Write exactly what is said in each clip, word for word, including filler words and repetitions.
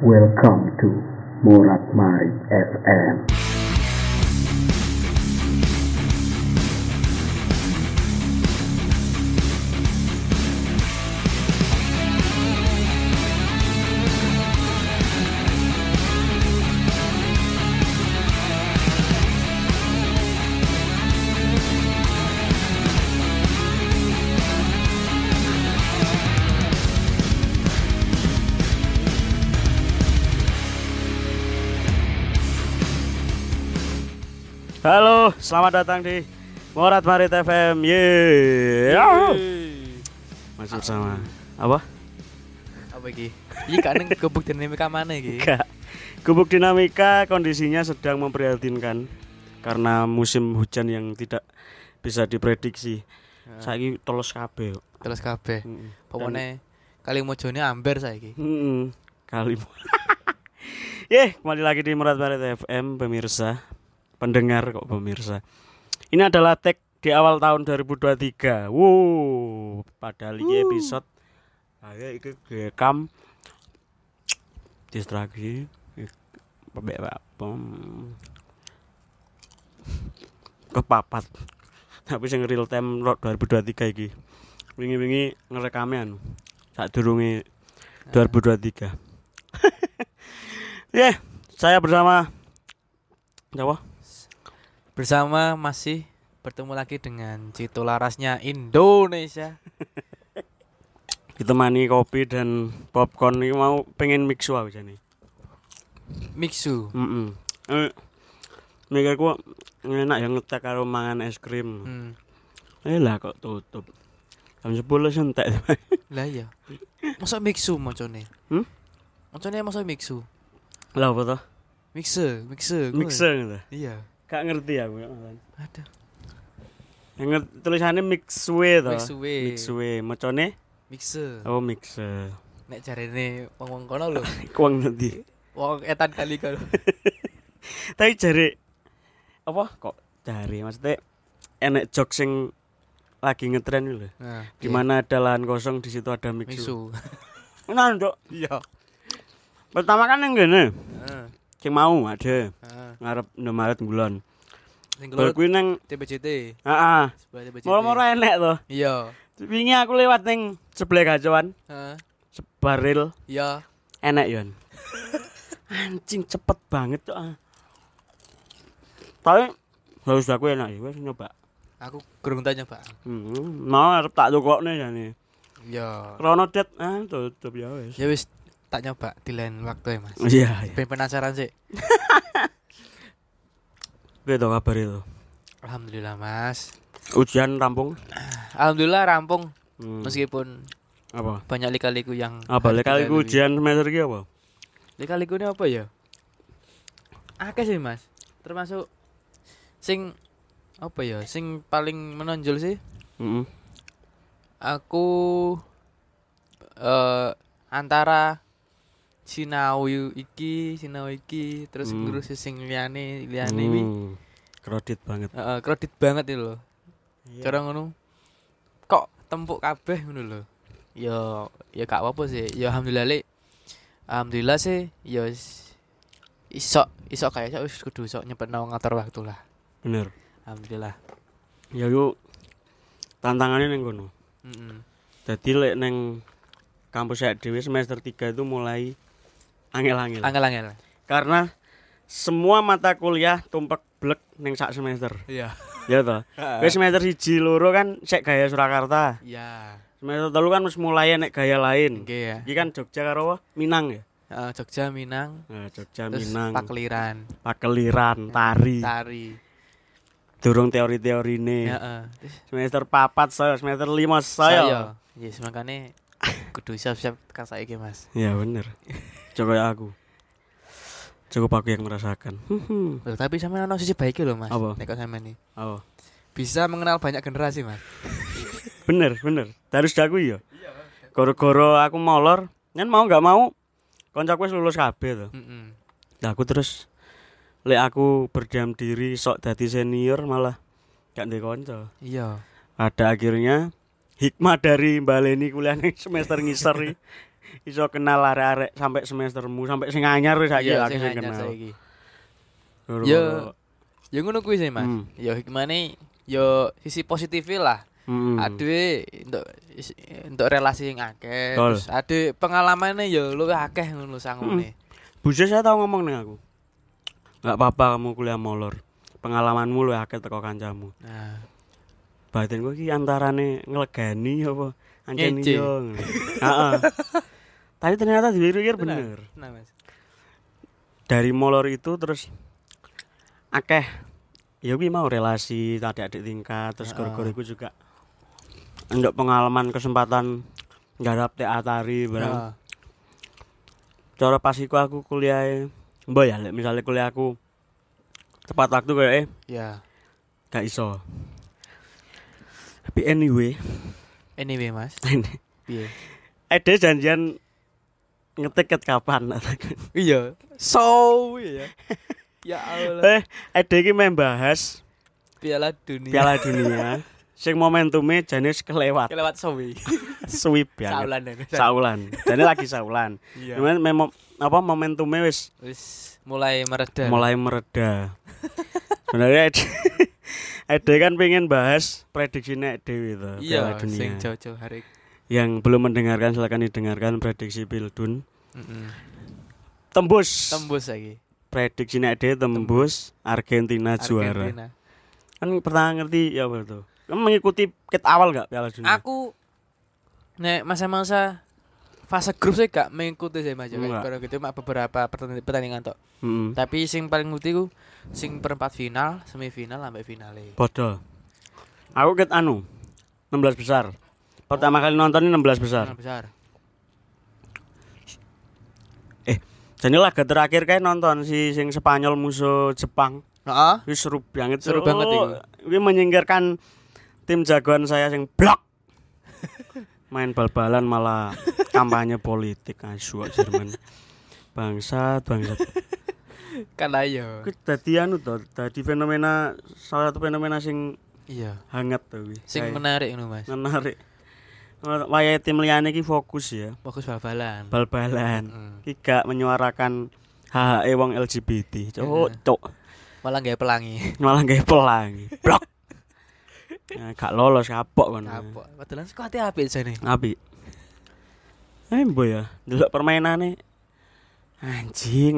Welcome to Morat Marit F M. Halo, selamat datang di Morat Marit F M. Yeay. Masih bersama apa? Apa iki? Iki gak neng gubuk dinamika mana iki? Gak. Gubuk dinamika kondisinya sedang memprihatinkan karena musim hujan yang tidak bisa diprediksi. Nah. Saiki tolos kabeh. Terus kabeh. Heeh. Pokoknya kali mojone amber saiki. Heeh. Kali. Ye, kembali lagi di Morat Marit F M pemirsa. Pendengar kok pemirsa. Ini adalah tag di awal tahun dua ribu dua puluh tiga. Wow, padahal ini episode saya iki rekam distraksi pebek apa kepapat. Tapi sing real time dua ribu dua puluh tiga iki. Wingi-wingi ngerekame anu. Sadurunge dua ribu dua puluh tiga. Ya, yeah, saya bersama Jawa. Bersama masih bertemu lagi dengan Cito Larasnya Indonesia. Ditemani kopi dan popcorn ini mau pengen mixu aku jane. Mixu. Heeh. Eh mikirku enak yang ngetek karo mangan es krim. Hmm. Eh lah kok tutup. Jam sepuluh sentek. Lah iya. Masa mixu mocone? Hmm? Mocone masa mixu? Lah apa toh? Mixer, mixer. Mixer gitu. Iya. Gak ngerti aku ya. Ada. Yang ngerti tulisannya mixue toh. Mixue. Mixue. Macone? Mixer. Oh, mixer. Nek jarene wong-wong kono lho. Kuang nanti. Wong etan kali kalau. Tapi jare apa kok jare maksudnya enek jok sing lagi ngetren lho. Nah, Di mana ada lahan kosong di situ ada mixu. mixu. Nah, Nduk. Iya. Pertama kan yang gini. Heeh. Sing mau ada Heeh. ngarep Indomaret bulan. Sing Bar kuwi nang T B C T. heeh. Sebelah T B C T. Moro-moro enek to. Iya. Wingi aku lewat ning sebelah gacoan, Heeh. sebaril Iya. enek yon. Anjing cepet banget cok. Tapi harus aku enak ya wis nyoba. Aku kurang tanya, Pak. Hmm, mau arep tak tukokne jane. Iya. Krono det ah tutup ya wis. Ya wis tak nyoba di lain waktu ya, Mas. Iya, iya. Ben penasaran sih. Piye to kabar itu? Alhamdulillah, Mas. Ujian rampung? Alhamdulillah rampung. Hmm. Meskipun Apa? banyak lika-liku yang Apa harus lek-liku dilalui. ujian semester iki apa? Lika-liku ini apa ya? Akeh sih, Mas. Termasuk sing apa ya? Sing paling menonjol sih. Heeh. Aku eh antara sinau iki, sinau iki, terus Hmm. ngurus sing liyane, liyane wi. Hmm. Kredit banget. Heeh, kredit banget itu lho. Iya. Cara ngono. Kok tempuk kabeh ngono lho. Ya ya gak apa-apa sih. Ya alhamdulillah le. Alhamdulillah sih ya wis iso iso kayak wis kudu iso nyempetno ngatur waktu lah. Bener. Alhamdulillah. Ya yuk tantangannya ning kono. Heeh. Dadi lek ning kampus saya dhewe semester tiga itu mulai angel-angel. Angel-angel. Karena semua mata kuliah tumpek blek ning sak semester. Iya. Ya toh. Wis semester siji loro kan sek gaya Surakarta. Iya. Semester telu kan wis mulai nek gaya lain. Oke ya. Iki kan Jogja karo apa? Minang ya. Heeh, Jogja, Minang, Nah, Jogja terus Minang. Pakliran, Pakeliran, tari. Tari. Durung teori-teorine. Heeh. Semester papat saya, semester lima saya. Yes, makane kudu siap-siap tekan saiki, Mas. Ya bener. Coba ya aku. Cukup aku yang merasakan. Loh, tapi sampean ono sisi baike lho, Mas. Apa? Nek kok sampean iki Oh. bisa mengenal banyak generasi, Mas. Bener, bener. Terus aku ya. Goro-goro aku molor, kan mau enggak mau koncoku wis lulus kabeh to. Heeh. Nah, aku terus lek aku berdiam diri sok dadi senior malah gak ndek kanca. Iya. Pada akhirnya hikmah dari baleni kuliah ning semester ngisor iki iso kenal arek-arek sampai semestermu, sampai sing anyar wis saiki Iya, aku sing sing anyar kenal. saiki. Gara-gara- Yo, ya ngono kuwi sih, Mas. Hmm. Ya hikmane yo sisi positifnya lah. Mm-mm. Ade untuk untuk relasi yang akeh, Betul. terus ade pengalamannya yo luwih akeh ngono sangune. Buse saya tahu ngomong nih aku. Enggak apa-apa kamu kuliah molor. Pengalamanmu luwih akeh teko kancamu. Nah, Batinku iki antarane nglegani apa ancen Ngece. iya. ngono. Heeh. Tapi ternyata dipikir bener. Nah, Mas. Dari molor itu terus akeh ya kuwi mau relasi adik-adik tingkat terus Heeh. gara-gara iku juga ndok pengalaman kesempatan nggarap teatari barang. Heeh. Cara pas iku aku kuliah mbok ya lek misale kuliah aku tepat waktu kayak eh Ya. gak iso. Tapi anyway, Anyway, Mas. ini Piye? ada janjian ngetik ket kapan? Iya. So, ya. Ya Allah. Eh, ada iki main bahas Piala Dunia. Piala Dunia. Sing momentumnya jane wis kelewat. Kelewat sowi. Suwi banget. Saulan ya. Saulan. Jane lagi saulan. Iya. Cuman memang apa momentumnya wis Wis mulai mereda. mulai mereda. Sebenarnya Ede, Ede kan pengen bahas prediksinya Ede itu Piala Iya, Dunia. sing jauh-jauh hari. Yang belum mendengarkan silakan didengarkan prediksi Pildun. Heeh. Tembus. Tembus lagi. Prediksinya Ede tembus Argentina, juara. Argentina. Kan pernah ngerti ya apa tuh? Kamu mengikuti kit awal gak Piala Dunia? Aku nek masa-masa fase grup saya gak mengikuti sih Mas. Enggak. Karena gitu mak beberapa pertandingan, pertandingan tok. Heeh. Tapi sing paling ngerti ku sing perempat final, semifinal sampai finale. Bodoh. Aku ket anu enam belas besar. Pertama kali nonton ini enam belas besar. Final besar. Jadi laga terakhir kayak nonton si sing Spanyol musuh Jepang. Heeh. Wih seru banget. Seru Cuk. banget iku. Wih menyingkirkan tim jagoan saya sing blok. Main bal-balan malah kampanye politik asu Jerman. Bangsat, bangsat. Kan ayo. Kuwi dadi anu to, dadi fenomena salah satu fenomena sing Iya. hangat to kuwi. Sing Kayak menarik ngono Mas. menarik. Wayahe tim liyane iki fokus ya. Fokus bal-balan. Bal-balan. Heeh. Iki gak menyuarakan hak-hak wong L G B T. Cuk, cuk. Malah gawe pelangi. Malah gawe pelangi. Blok. Ya, gak lolos kapok kon. Kapok. Padahal skuate apik jane. Apik. Eh mbok ya, delok permainane anjing.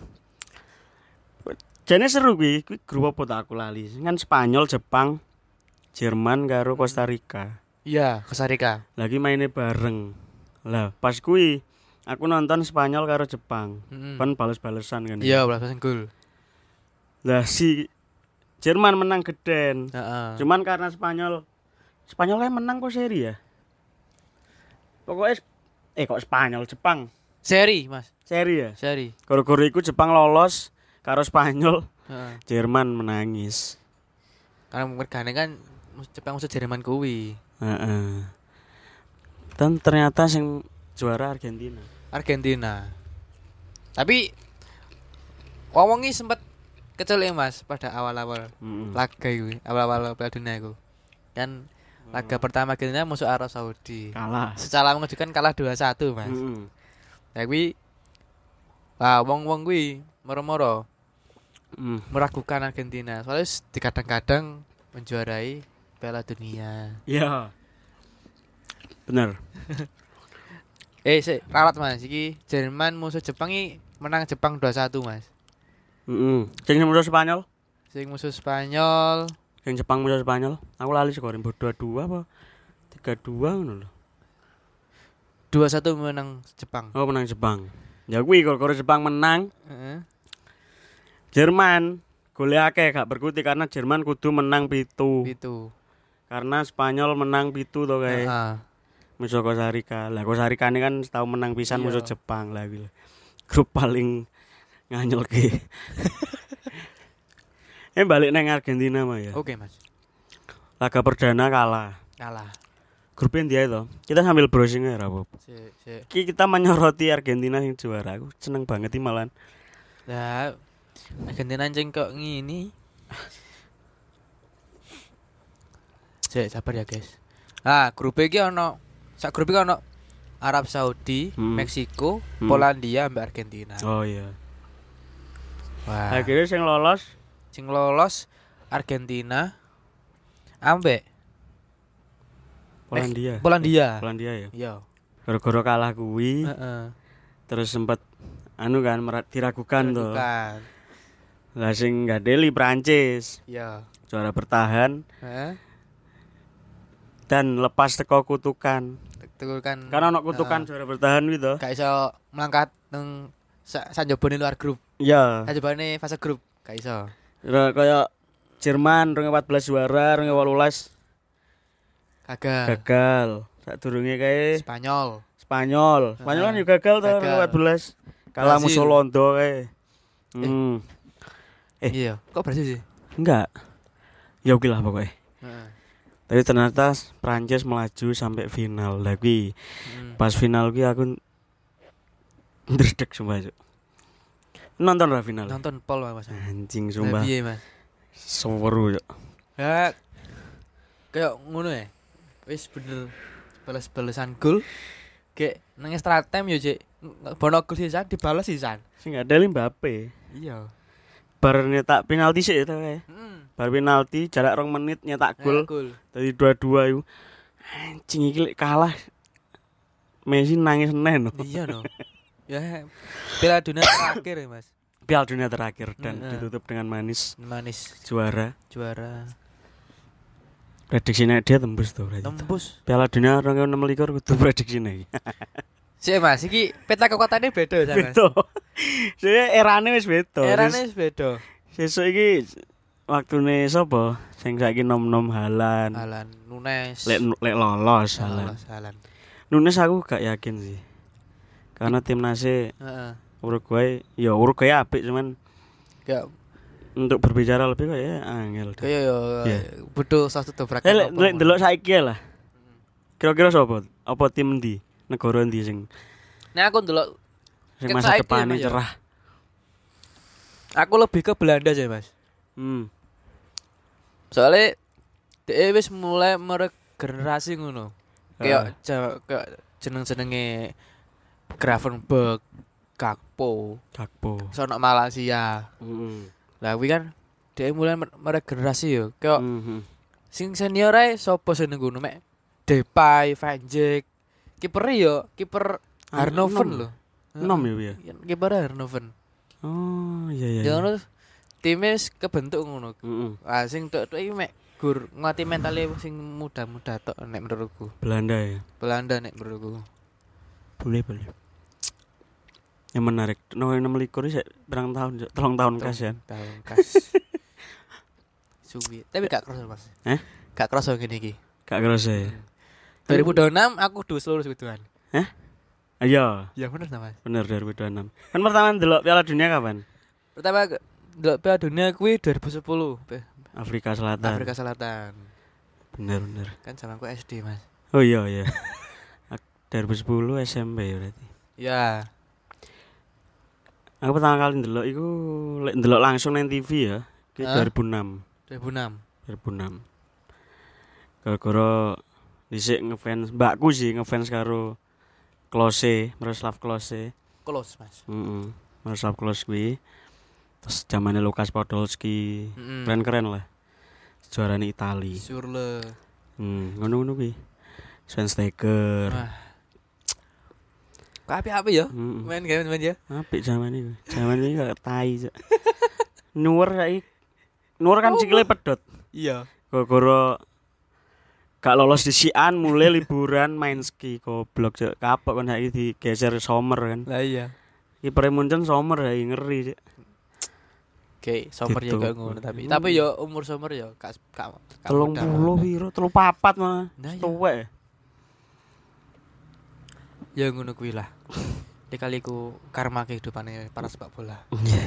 Jane seru kuwi, kuwi grup apa tak aku lali. Kan Spanyol, Jepang, Jerman karo Costa Rica. Iya, Costa Rica. Lagi mainnya bareng. Lah, pas kuwi aku nonton Spanyol karo Jepang. Heeh. Kan bales-balesan kan. Iya, balasan gol. Lah si Jerman menang geden. Heeh. Cuman karena Spanyol Spanyol kan menang kok seri ya. Pokoknya eh kok Spanyol Jepang Seri, Mas. seri ya. Seri. Gara-gara iku Jepang lolos karo Spanyol, Heeh. Jerman menangis. Karena mergane kan Jepang musuh Jerman kuwi. Heeh. Dan ternyata sing juara Argentina. Argentina. Tapi wong-wongi sempat kecelek Mas pada awal-awal Heeh. laga iku, awal-awal Piala Dunia iku. Kan laga pertama Argentina musuh Arab Saudi. Kalah. Secara mengejutkan kalah dua satu, Mas. Heeh. Tapi wah wong-wong kuwi moro-moro Mm. meragukan Argentina. Soalnya di kadang-kadang menjuarai Piala Dunia. Iya. Bener. Eh, sik, rawat Mas. Iki Jerman musuh Jepang iki menang Jepang dua satu, Mas. Heeh. Sing musuh Spanyol, Sing musuh Spanyol sing Jepang musuh Spanyol. Aku lali skor dua dua apa tiga dua ngono lho. dua satu menang Jepang. Oh, menang Jepang. Ya kuwi gara-gara Jepang menang, Heeh. Jerman gole akeh gak berkutik karena Jerman kudu menang pitu. Itu. Karena Spanyol menang pitu to kae. Heeh. Musuh Costa Rica. Lah Costa Rica ini kan tahu menang pisan Iya. musuh Jepang lah kuwi. Grup paling nganyelke. Eh balik nang Argentina mah ya. Oke, Mas. Laga perdana kalah. Kalah. Grupnya dia itu. Kita sambil browsing ya apa. Sik, sik. Ki kita menyoroti Argentina yang juara. Aku seneng banget iki malan. Lah Argentina anjing kok ngini. Sik, sabar ya, guys. Ah, grup iki ono sak grup iki ono Arab Saudi, Hmm. Meksiko, Hmm. Polandia ambek Argentina. Oh iya. Wah. Akhirnya sing lolos Sing lolos Argentina ambek Polandia. Polandia. Polandia ya. Iya. Gara-gara kalah kuwi Heeh. terus sempat anu kan merat- diragukan tuh. Bukan. Lah sing ngadeli Prancis Iya. juara bertahan Heeh. dan lepas teko kutukan. Betul kan. Karena ono kutukan Heeh. juara bertahan kuwi to. Gak iso melangkat nang sa- sanjobone luar grup. Iya. Sanjobone fase grup gak iso. Ora kaya Jerman dua ribu empat belas juara, dua ribu delapan belas Gagal. gagal. Sadurunge kae Spanyol. Spanyol. Spanyol kan juga gagal tuh dua ribu empat belas. Kalah Brasil. musuh Londo kae. Hmm. Eh. Iya. Kok Brasil sih? Enggak. Ya oke lah pokoknya. Heeh. Tapi ternyata Prancis melaju sampai final. Lah kuwi Hmm. pas final kuwi aku ndredeg sumpah, Cuk. Nonton ra final. Nonton pol Mas. Anjing Lah sumpah. piye, Mas? Seru, Cuk. Ya kayak ngono ya. Wis bener balas-balasan gol. Kayak nang extra time yo, Cik. Bono gol sisan dibalas sisan. Sing ngadeli Mbappe. Iya. Bar nyetak penalti sih itu kae. Heeh. Bar penalti jarak rong menit nyetak gol. Gol. Tadi dua-dua iku. Anjing iki lek kalah Messi nangis neno. Iya no. Ya Piala Dunia terakhir ya, Mas. Piala Dunia terakhir dan Heeh. ditutup dengan manis Manis juara. juara. Prediksinya dia tembus tuh berarti. Tembus. Piala Dunia dua ribu enam belas kudu prediksinya iki. Sik Mas, iki peta kekuatannya beda sama. Beto. Saya erane wis beto. Erane wis beda. Sesuk iki waktune sapa? Sing saiki nom-nom Halan. Alan Nunes. Lek lek lolos Halan. Alan. Alan. Nunes aku gak yakin sih. Karena timnasnya Heeh. Uruguay, ya Uruguay apik cuman Kayak untuk berbicara lebih kayak angel. deh. kayak yo Iya. butuh satu dobrak. Eh lek lek ndelok saiki lah. Kira-kira sapa? Apa tim ndi? Negara ndi sing Nah aku ndelok sing Ket masa saiki, depannya Mas, ya. cerah? aku lebih ke Belanda sih, Mas. Hmm. Soalnya dia wis mulai meregenerasi ngono. Kayak ja- kayak jeneng-jenenge Gravenberch, Gakpo, Gakpo. sono Malaysia. Heeh. Lah kuwi kan dia mulai mer- meregenerasi yo. Kayak Mhm. sing senior ae sapa sing nang ngono mek Depay, Van Dijk. Kiper yo, kiper Ah, Harnoven enom. lho. Enom ya piye? Kiper Harnoven. Oh, iya iya. Ya iya. ngono time wis kebentuk ngono. Heeh. Ah sing tok-tok iki mek gur ngati mentale sing muda-muda tok nek menurutku. Belanda ya. Belanda nek menurutku. Boleh boleh. Yang menarik, no enam likur sih berang tahun, Cuk. Telung tahun kas ya. Tahun kas. Suwi. Tapi gak kerasa, Mas. Eh? Gak kerasa ngene iki. Gak kerasa ya. dua ribu dua puluh enam aku dus lulus gituan. Iya, Ya bener ta, Mas. bener dua ribu dua puluh enam. Kan pertama ndelok Piala Dunia kapan? Pertama ndelok Piala Dunia kuwi dua ribu sepuluh, Pe- Afrika Selatan. Afrika Selatan. Bener bener. Kan zamanku S D, Mas. Oh iya iya. Ak- dua ribu sepuluh S M P ya berarti. Ya. Aku pertama kali ndelok iku lek ndelok langsung nang T V ya, ki Hah? dua ribu enam. dua ribu enam. dua ribu enam. Gara-gara dhisik ngefans mbakku sih ngefans karo Klose, Miroslav Klose. Close, Mas. Heeh. Miroslav Klose kuwi. Terus zamane Lukas Podolski. Heeh. Keren-keren lah. Juarane Itali. Surle. Hmm, ngono-ngono kuwi. Schweinsteiger. Wah. Kok apik-apik ya? Heeh. Main game main ya. Apik zaman iku. Zaman iki kok tai, Cuk. Nuwer saiki. Nuwer kan sikile pedot. Iya. Gara-gara gak lolos di Sian mulai liburan main ski goblok Cuk. Kapok kan saiki digeser Sommer kan. Lah iya. Kiper Munchen Sommer ya ngeri, Cuk. Oke, Sommer ya Gitu. gak ngono tapi Hmm. tapi ya umur Sommer ya gak gak gak telung muda. puluh piro? telung papat mah. Nah, iya. Tuwek. Ya ngono kuwi lah. Dikaliku karma kehidupannya para sepak bola.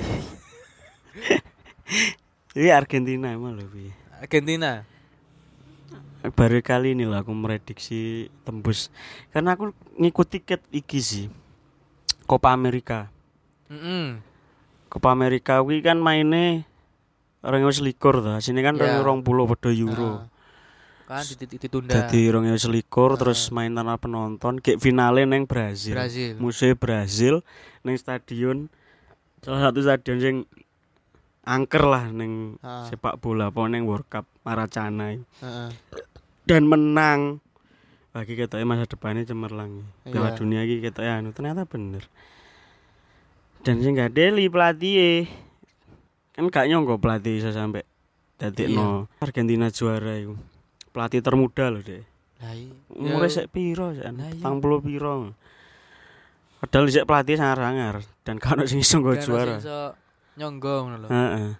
Ini Argentina emang lho piye. Argentina. Baru kali ini lah aku merediksi tembus. Karena aku ngikut tiket iki sih. Copa America. Heeh. Copa America kuwi kan maine orang wis likur to. Sini kan Ya. rong puluh padha euro. Kan ditunda. Dadi dua ribu selikur Uh. terus main tanpa penonton, kayak finale neng Brazil. Brazil. Musuhnya Brazil neng stadion salah satu stadion sing angker lah neng Uh. sepak bola apa neng World Cup Maracana. Heeh. Dan menang. Bagi ketoknya masa depannya cemerlang. Piala Iya. dunia iki ketoknya anu ternyata bener. Dan sing gak deli pelatih kan gak nyongko pelatih bisa sampai dadi Iya. no Argentina juara itu. Pelatih termuda loh deh. Lah iya. Umure sik piro jan? Lah iya. empat puluh piro. Padahal sik pelatih sangar-sangar dan kan sing iso nggo juara. Iso nyonggo ngono lho. Heeh.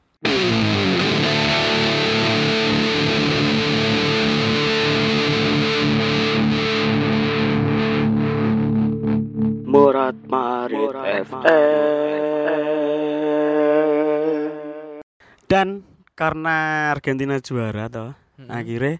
Murat Marit F M. Dan karena Argentina juara toh, Mm-mm. akhirnya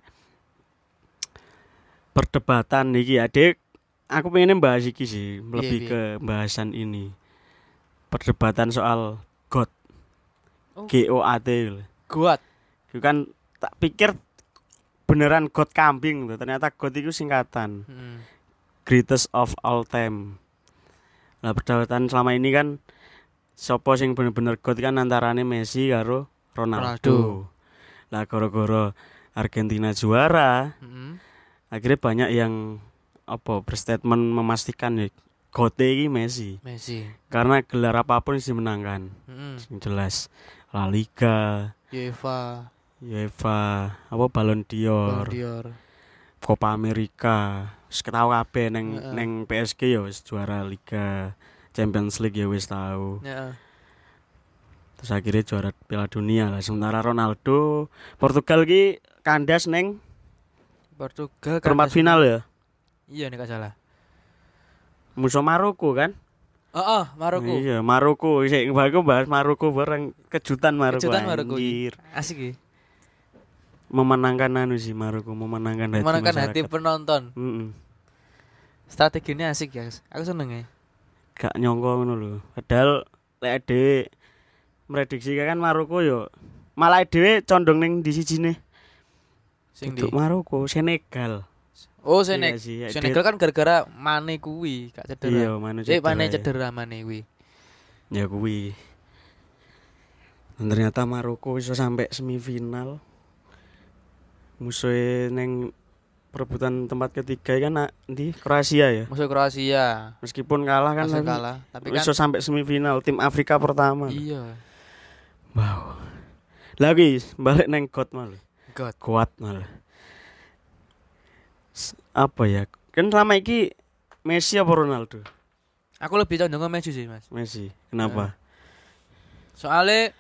perdebatan iki adik aku pengen bahas iki sih lebih iya. ke bahasan ini perdebatan soal God Oh. G O A T Kuat. itu kan tak pikir beneran God kambing tuh ternyata God itu singkatan Heeh. greatest of all time. Lah perdebatan selama ini kan sopo sing bener-bener God kan antarane Messi karo Ronaldo. Ronaldo. Lah gara-gara Argentina juara Heeh. akhirnya banyak yang apa berstatement memastikan ya God iki Messi Messi. karena gelar apapun sih dimenangkan. Heeh. Sing jelas La Liga, UEFA, UEFA, apa Ballon d'Or, Ballon d'Or. Copa America. Wis ketau kabeh neng Heeh. neng P S G ya wis juara Liga, Champions League ya wis tau. Heeh. Terus akhirnya juara Piala Dunia lah. Sementara Ronaldo Portugal ki kandas neng Portugal kan perempat final ya. Iya nek gak salah. Musuh Maroko kan? Heeh, Maroko. Iya, Maroko. Sik aku bahas Maroko bareng kejutan Maroko. Kejutan Maroko. Anjir. Asik iki. Memenangkan anu sih Maroko, memenangkan hati Memenangkan hati masyarakat. penonton. Heeh. Strateginya asik ya. Aku seneng ya. Gak nyongko ngono lho. Padahal lek dhewe prediksi kan Maroko yo malah dhewe condong ning di sijine. Sing di. Untuk Maroko, Senegal. Oh, Iya Senegal. sih, ya, Senegal kan gara-gara Mane kuwi, gak cedera. Iya, Mane Eh, Mane ya. cedera Mane kuwi. Ya kuwi. Dan ternyata Maroko bisa sampai semifinal. Musuhnya neng perebutan tempat ketiga kan nak di Kroasia ya. Musuh Kroasia. Meskipun kalah kan Musuh tapi kalah, tapi kan bisa sampai semifinal tim Afrika pertama. iya. Wow. Lagi balik neng God malah. God. Kuat malah. S- Apa ya? Kan selama iki Messi apa Ronaldo? Aku lebih condong ke Messi sih, Mas. Messi. Kenapa? Soalnya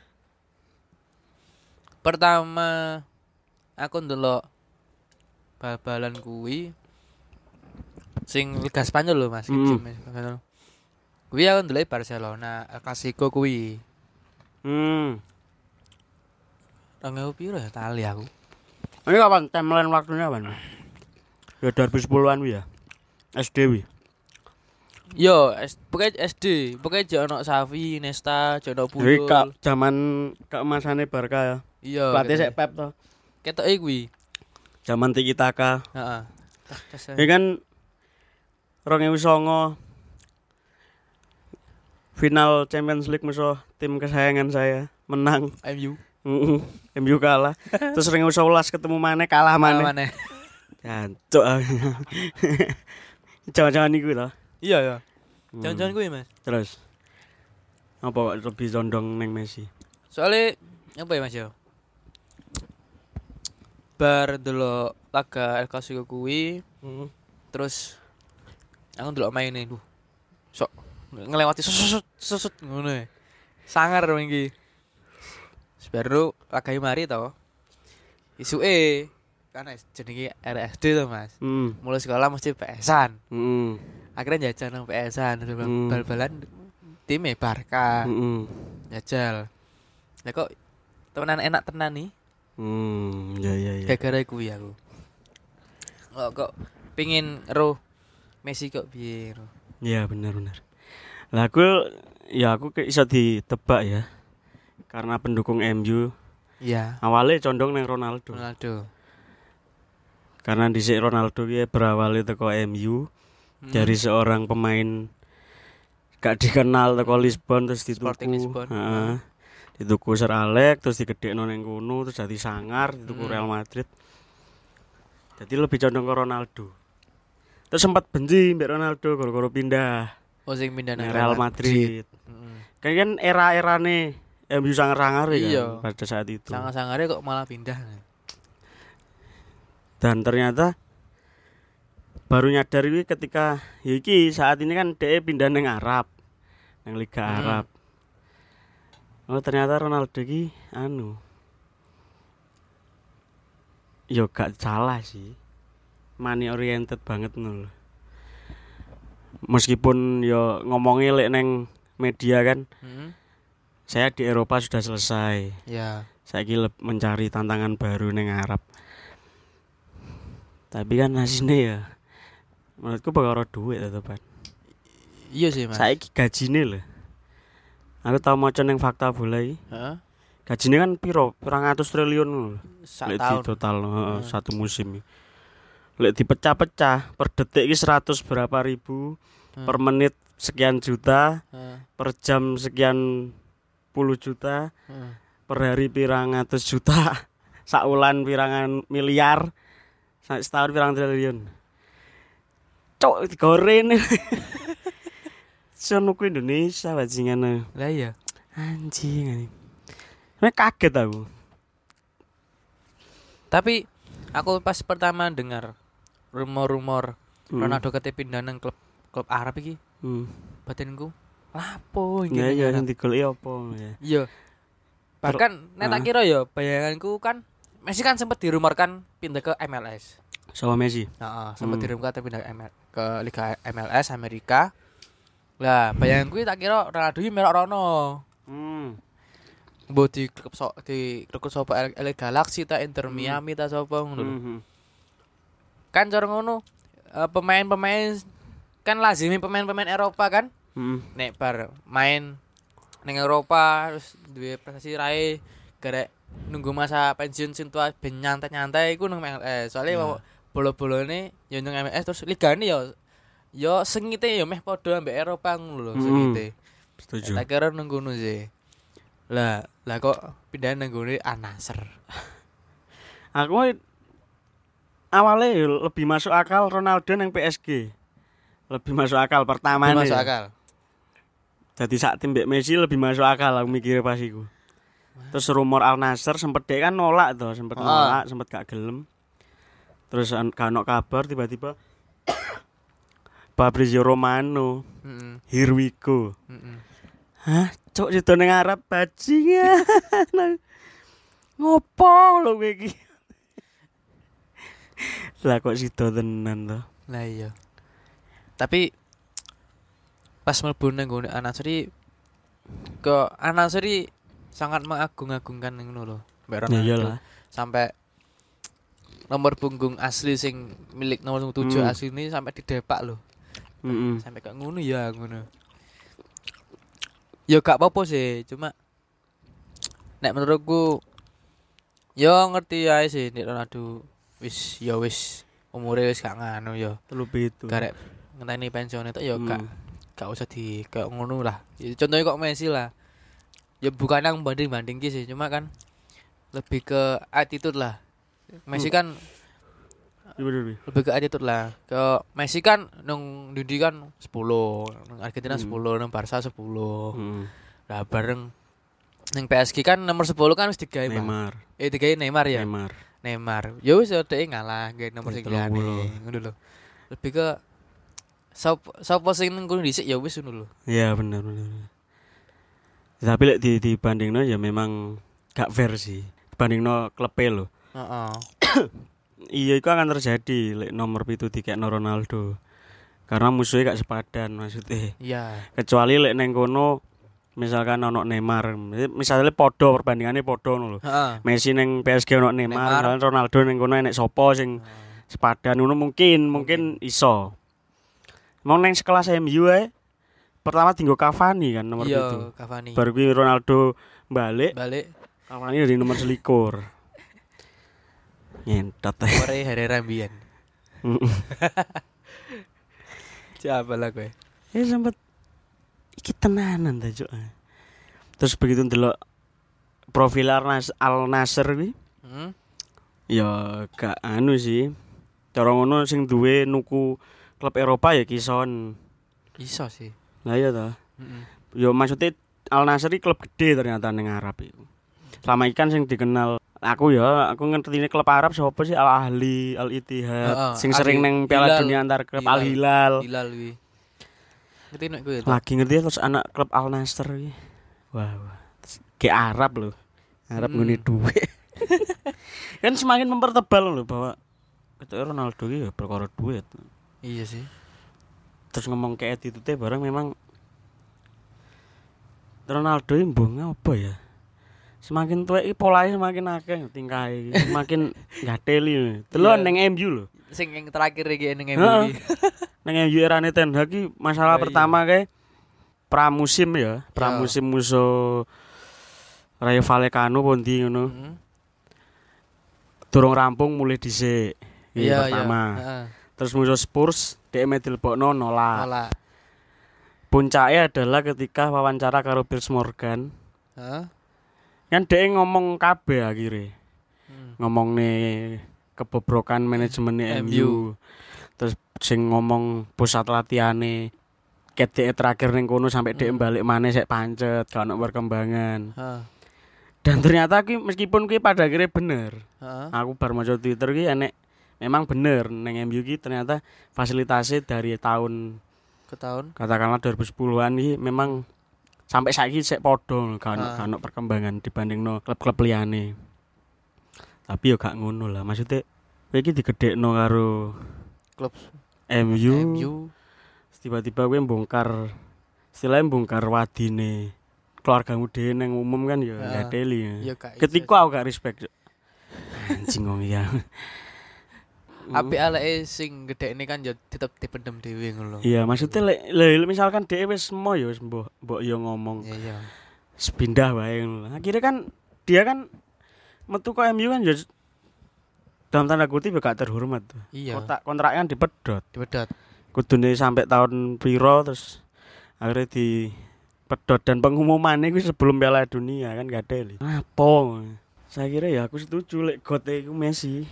pertama aku ndelok bal-balan kuwi sing Liga Spanyol lho, Mas. Mm. Spanyol. Kuwi aku ndelok Barcelona, El Clasico kuwi. Hmm. Tanggal piro ya tali aku. Ini kapan timeline waktunya kapan? Ya dua ribu sepuluhan wi ya. S D wi. Yo, S- pokoknya S D, pokoknya jek ono Xavi, Iniesta, jek ono Jadi Puyol. kak zaman keemasannya Barca ya. Iya. Pelatih ketok- sek Pep to. Ketoke kuwi. Zaman Tiki Taka. Heeh. Tas tas. Ya kan dua ribu sembilan final Champions League musuh tim kesayangan saya menang. M U. Heeh. M U kalah. Terus dua ribu sebelas ketemu maneh kalah maneh. Mana? Jancuk. Jangan-jangan iku to. Iya ya. Hmm. Jangan-jangan kuwi, Mas. Terus apa kok lebih condong neng Messi? Soalnya apa ya, Mas ya? Bar delok laga El Clasico kuwi, Heeh. terus aku ndelok maine duh. Sok ngelewati susut susut ngono e. Sangar dong iki. Baru laga mari to. Isuke kan jenenge R S D to, Mas. Heeh. Mulai sekolah mesti P S-an. Heeh. Akhirnya jajal nang P S-an, Hmm. bal-balan time Barca. Heeh. Jajal. Lah kok temenan enak tenan nih. Hmm, ya ya ya. Gara-gara kuwi aku. Kok kok pengin ro Messi kok piye ro. Iya benar benar. Lah aku ya aku ke iso ditebak ya. Karena pendukung M U Iya, awalnya condong nang Ronaldo. Ronaldo. Karena dhisik Ronaldo ki berawal teko M U Hmm. dari seorang pemain gak dikenal teko Lisbon terus dituku. Sporting Lisbon. Heeh. Dituku Sir Alex terus digedhekno ning kono terus dadi sangar dituku Hmm. Real Madrid. Jadi lebih condong ke Ronaldo. Terus sempat benci mbek Ronaldo gara-gara pindah Oh sing pindah nang nang Real Madrid. Heeh. Kan kan era-erane M U sangar-sangar ya Iya. kan pada saat itu. Sangar-sangare kok malah pindah. Dan ternyata baru nyadar iki ketika ya iki saat ini kan dia pindah nang Arab. Nang Liga Hmm. Arab. Oh ternyata Ronaldo iki anu. Yo gak salah sih. Money oriented banget nul. Meskipun yo ngomongnya lek neng media kan, Heeh. saya di Eropa sudah selesai. Ya. Saya kira mencari tantangan baru neng Arab. Tapi kan hasilnya ya, menurutku bakal duit tetepan. Iya sih, Mas. Saya gajine loh. Aku tau maca neng fakta bola iki. Heeh. Gajine kan piro? Pirang atus triliun lho. Sak Lek di tahun. total heeh, Hmm. satu musim. Lek dipecah-pecah per detik iki seratus berapa ribu, Hmm. per menit sekian juta, Heeh. per jam sekian puluh juta, Heeh. per hari pirang atus juta, saulan pirangan miliar, sa- setahun pirang triliun. Cok digoreng. Sono ku Indonesia bajingan. Lah iya. Anjing anjing. Nek kaget aku. Tapi aku pas pertama dengar rumor-rumor Hmm. Ronaldo kate pindah nang klub klub Arab iki, Hmm. batinku lapo iki. Ya ning ya Arab? sing digoleki apa ya. Iya. Bahkan nek tak Ah. kira ya bayanganku kan Messi kan sempat dirumorkan pindah ke M L S. Sama Messi. Heeh, sempat Hmm. dirumorkan pindah ke, M L, ke Liga M L S Amerika. Lah, bayanganku tak kira Ronaldo iki melok rono. Hmm. Mbok di klub so, di klub sapa L A Galaxy ta Inter Hmm. Miami ta sapa ngono lho. Mhm. Kan cara ngono eh, pemain-pemain kan lazimi pemain-pemain Eropa kan Hmm. nek bar main ning Eropa terus duwe prestasi rae garek nunggu masa pensiun sing tua ben nyantai-nyantai iku nang M L S. Soale Ya. bola-bolane ya nang M L S terus ligane ya ya sengite ya meh padha ambek Eropa ngono lho Mm-mm. sengite. Setuju. Tak kira nang ngono sih. Lah, lah kok pindah nang ngene Al-Nassr. Aku awalnya ya lebih masuk akal Ronaldo nang P S G. Lebih masuk akal pertama Masuk akal. Jadi saat tim Mbak Messi lebih masuk akal aku mikirnya pas iku. Terus rumor Al Nassr sempet dia kan nolak tuh, sempet Ah. nolak, sempet gak gelem. Terus an- gak ono kabar tiba-tiba Fabrizio Romano, Heeh. here we go. Heeh. Hah, cok sido ning Arab bajingan. Ngopo lho kowe iki? Lah kok sido tenan to. Lah iya. Tapi pas mlebu nang ngene Al-Nassr iki ke Al-Nassr iki sangat mengagung-agungkan ngono lho. Mbak Ya Ronaldo. iyalah. Sampai nomor punggung asli sing milik nomor tujuh Hmm. asli ini sampai didepak lho. Heeh. Sampai kayak ngono ya ngono. Ya gak apa-apa sih, cuma nek menurutku ya ngerti ae sih nek Ronaldo wis ya wis umure wis gak nganu ya. Telu pitu. Garek ngenteni pensiun itu ya gak Hmm. gak usah di kayak ngono lah. Ya, contohnya kok Messi lah. Ya bukan yang banding-banding sih, cuma kan lebih ke attitude lah. Messi kan Iya bener, Bi. lebih ke attitude lah. Ke Messi kan nang Didi kan sepuluh, nang Argentina Hmm. sepuluh, nang Barca sepuluh. Heeh. Lah bareng nang P S G kan nomor sepuluh kan wis digawe Pak. Neymar. Eh digawe Neymar ya. Neymar. Neymar. Ya wis dhek ngalah gawe nomor Ya, sing telung liyane. puluh. Ngono lho. Lebih ke sapa sapa sing nang kono dhisik ya wis ngono lho. Iya bener bener. Tapi lek di dibandingno ya memang gak fair sih. Dibandingno klube lho. Heeh. Iya itu akan terjadi lek nomor pitu dikekno Ronaldo. Karena musuhnya gak sepadan maksudnya. Iya. Kecuali lek neng kono misalkan ono Neymar, misalnya podo perbandingannya podo ngono lho. Heeh. Messi neng P S G ono Neymar, Neymar. misalkan Ronaldo neng kono enek sopo sing sepadan ngono mungkin, mungkin iso. Mau neng sekelas M U ae pertama tinggal Cavani kan nomor pitu. Iya, Cavani. Baru kuwi Ronaldo balik, Balik. Cavani dari nomor selikur. Nyentot. Ore Herrera mbiyen. Siapa lah kowe? Ya sempet iki tenanan ta, Cuk. Terus begitu ndelok profil Al-Nas Al-Nassr kuwi, Hmm? ya gak anu sih. Cara ngono sing duwe nuku klub Eropa ya Kison. Iso sih. Lah iya ta. Heeh. Ya maksudnya Al-Nassr iki klub gede ternyata ning Arab iku. Selama ikan sing dikenal aku ya, aku ngerti klub Arab sapa sih Al-Ahli, Al-Ittihad, Heeh, sing sering Al- neng Piala Hilal. Dunia antar klub Hilal. Al-Hilal. Hilal kuwi. Ngerti nek kowe. Lagi ngerti terus anak klub Al-Nassr iki. Wah, wah. Ke Arab loh. Arab Hmm. ngene duit. Kan semakin mempertebal loh bahwa itu Ronaldo iki ya perkara duit. Iya sih. Terus ngomong ke attitude bareng memang Ronaldo ini mbong apa ya? Semakin tuwek iki polahe semakin akeh tingkahe iki, semakin gateli. Delok Iya. ning M U lho. Sing yang terakhir iki ning M U Heeh. iki. Ning M U erane Ten Hag iki masalah Lah, iya. pertama kae pramusim ya, pramusim musuh Rayo Vallecano pondi ngono. Heeh. Durung rampung mulai dhisik. Iki Iya, pertama. iya. Heeh. Terus musuh Spurs dhek medilbokno nolak. Malah. Puncaknya adalah ketika wawancara karo Piers Morgan. Heeh. Kan dhek ngomong kabeh akhirnya. Hmm. Ngomong nih kebobrokan manajemen M M U. U. Terus sing ngomong pusat latihane ket dhek terakhir ning kono sampai dhek Hmm. balik maneh sik pancet, gak ono perkembangan. Heeh. Dan ternyata ki meskipun ki pada akhirnya bener. Heeh. Aku bar maca Twitter ki enek memang bener ning M U ki ternyata fasilitasnya dari tahun Ke tahun. katakanlah dua ribu sepuluhan iki memang sampai saiki sik padha gak ono Ah. gak ono perkembangan dibandingno klub-klub liyane. Tapi yo gak ngono lah, maksudnya kowe iki digedhekno karo Klub M U, M U. tiba-tiba kowe bongkar istilahnya bongkar wadine keluargamu dhewe nang umum kan ya Ah. gateli. Ya gak. Ketika aku gak respect. Cuk. Anjing wong ya. Apik aleke sing gedhekne kan ya tetep dipendem dhewe ngono lho. Iya, maksudnya lek le, misalkan dhewe wis mo ya wis mbok mbok yo ngomong Iya, iya. sepindah wae ngono. Akhirnya kan dia kan metu ke M U kan ya dalam tanda kutip ya gak terhormat tuh. Iya. Kotak kontraknya kan dipedot. Dipedot. Kudune sampai tahun piro terus akhirnya di pedot dan pengumumannya itu sebelum Piala Dunia kan gak ada li. Apa? Saya kira ya aku setuju lek gote iku Messi.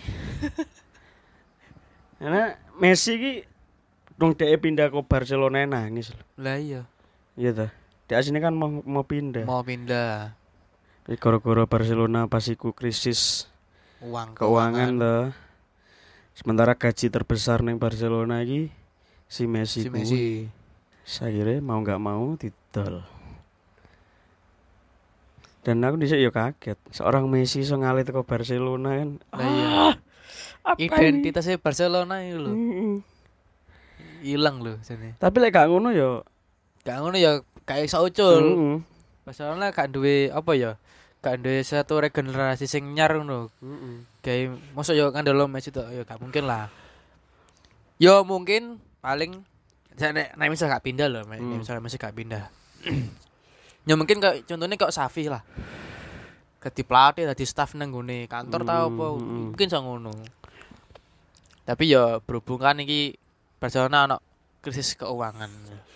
Karena Messi ki dong dhek pindah ke Barcelona nangis lho. Lah iya. Iya ta. Dhek asine kan mau mau pindah. Mau pindah Tapi gara-gara Barcelona pas iku krisis uang keuangan lah. Sementara gaji terbesar neng Barcelona iki si Messi. Si kuwi. Messi. Saya kira mau nggak mau didol. Dan aku dhisik ya kaget. Seorang Messi iso ngalih teko Barcelona kan. Lah iya. Apa ini? Identitasnya Barcelona itu lho. Mm-mm. Hilang lho jane. Tapi lek gak ngono ya. Gak ngono ya kayak iso ucul. Mm-mm. Barcelona gak duwe apa ya? Gak duwe satu regenerasi sing nyar ngono. Mm-mm. Kayak mosok yo ngandelo Messi tok ya gak mungkin lah. Yo mungkin paling nek nek misal gak pindah loh, nek Hmm. misal Messi gak pindah. Ya mungkin kayak contohnya kayak Xavi lah. Dadi pelatih, dadi staff nang gone kantor tau apa, Hmm, hmm. mungkin iso ngono. Tapi ya berhubung kan iki Barcelona ono krisis keuangan.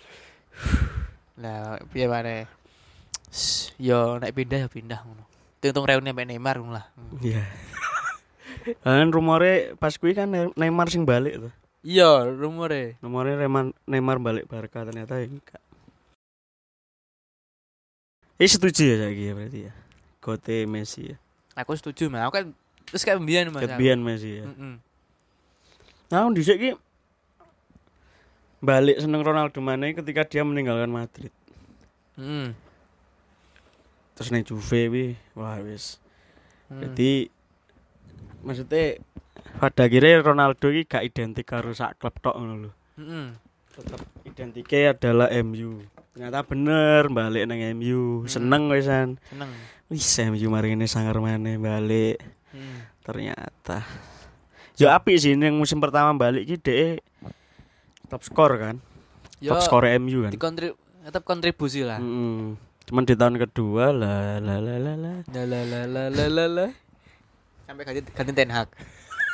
Lah piye maneh? Yo nek pindah ya pindah ngono. Untung reuni sampe Neymar ngono lah. Iya. Kan rumore pas kuwi kan Ne- Neymar sing balik tuh. Iya, rumore. Nomornya Neymar Neymar balik Barca ternyata ya enggak. Eh setuju ya saiki ya berarti ya. Gote Messi ya. Aku setuju, Mas. Aku kan terus kayak mbiyen Mas. Kebian Messi ya. Heeh. Nah, dhisik ki balik seneng Ronaldo maneh ketika dia meninggalkan Madrid. Heeh. Terus ning Juve wi, wah wis. Hmm. Jadi maksudnya pada akhirnya Ronaldo iki gak identik karo sak klub tok ngono lho. Heeh. Tetap identiknya adalah M U. Ternyata bener balik nang M U. Seneng wisan. Seneng. Wis M U mari ngene sangar maneh balik. Heeh. Ternyata ya apik sih yang musim pertama balik ki dhek top skor kan. Yo Top skor M U kan. dikontrib tetap kontribusi lah. Mm-mm. Cuman di tahun kedua lah lah lah lah lah. La la la la la la la. Sampai ganti ganti Ten Hag.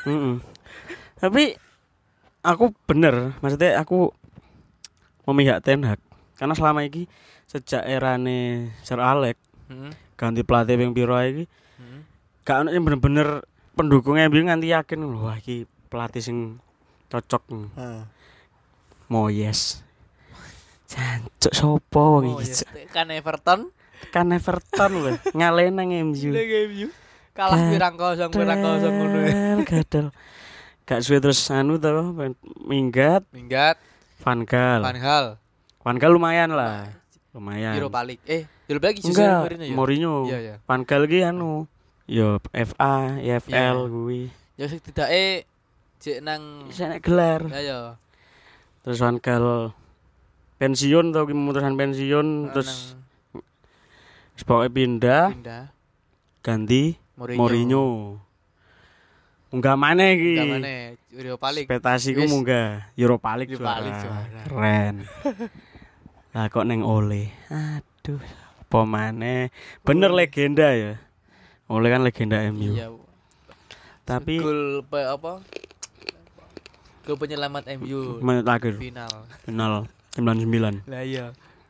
Mm-mm. Tapi aku bener, maksudnya aku memihak Ten Hag karena selama ini sejak erane Sir Alex Heeh. ganti pelatih ping piro iki Heeh. gak ono sing bener-bener pendukung M U nganti yakin wah iki pelatih sing cocok. Heeh. Moyes. Jancuk sopo wong Oh, iki? iya. Kan Everton Kan Everton lho, ngalahin nang M U. M U. Kalah pirang kosong pirang kosong ngono ya. Gadel. Gak suwe terus anu to minggat Minggat Van Gaal. Van Gaal. Van Gaal lumayan lah. Lumayan. Europa League. Eh, Europa League Jose Enggak, Mourinho ya. Mourinho. Iya, iya. Van Gaal ki anu yo F A, E F L Iya. kuwi. Ya sing tidake jek nang Bisa nek gelar. ya ya. Terus Van Gaal pensiun atau memutuskan pensiun terus sebagai pindah pindah ganti Mourinho. Mourinho. Munggah maneh iki. Enggak mana Europa League. Ekspektasiku Wis. munggah Europa League Europa juara. League juara. Keren. Lah kok neng Ole. Aduh, apa maneh? Bener Ole. legenda ya. Ole kan legenda M U. Iya. Tapi Gol pe- apa? Gol penyelamat M U menit akhir final. final sembilan puluh sembilan. Lah iya.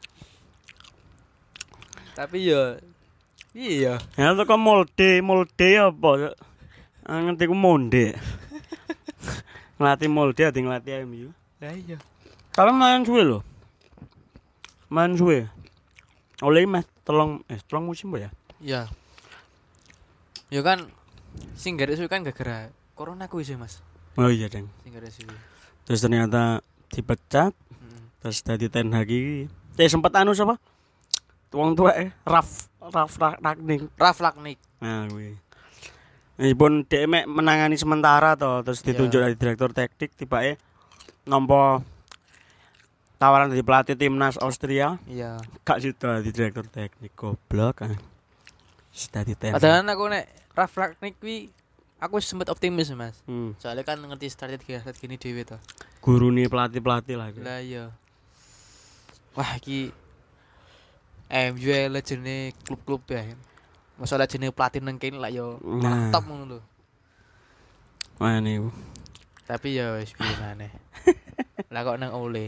Tapi ya iya. Ya itu kok molde, molde apa? Ah, ngerti ku monde. Ngelatih molde ati ngelatih M U. Lah iya. Tapi main suwe lho. Main suwe. Oleh meh telung eh telung musim apa ya? Iya. Ya kan sing gak suwe kan gara-gara corona kuwi sih, Mas. Oh iya, Deng. Sing gak suwe. Terus ternyata dipecat, Heeh. terus dadi Ten Hag iki. Eh sempat anu sapa? Wong tua eh Raf Raf Ragnik. Ralf Rangnick. Nah, kuwi. Meskipun dhek mek menangani sementara to, terus ditunjuk Iya. dari direktur taktik tibake nampa tawaran dari pelatih timnas Austria, Iya. gak sido dadi direktur teknik goblok. Ah. Wis dadi Ten Hag. Padahal aku nek Ralf Rangnick kuwi aku sempet optimis, Mas. Hmm. Soalnya kan ngerti strategi strategi gini dhewe to. Gurune pelatih-pelatih lah. Lah iya. Wah, iki M U legene klub-klub ya. Masalah jenenge pelatih nang kene lah yo Nah. top ngono lho. Wah niku. Tapi ya wis piye maneh. Lah kok nang Ole.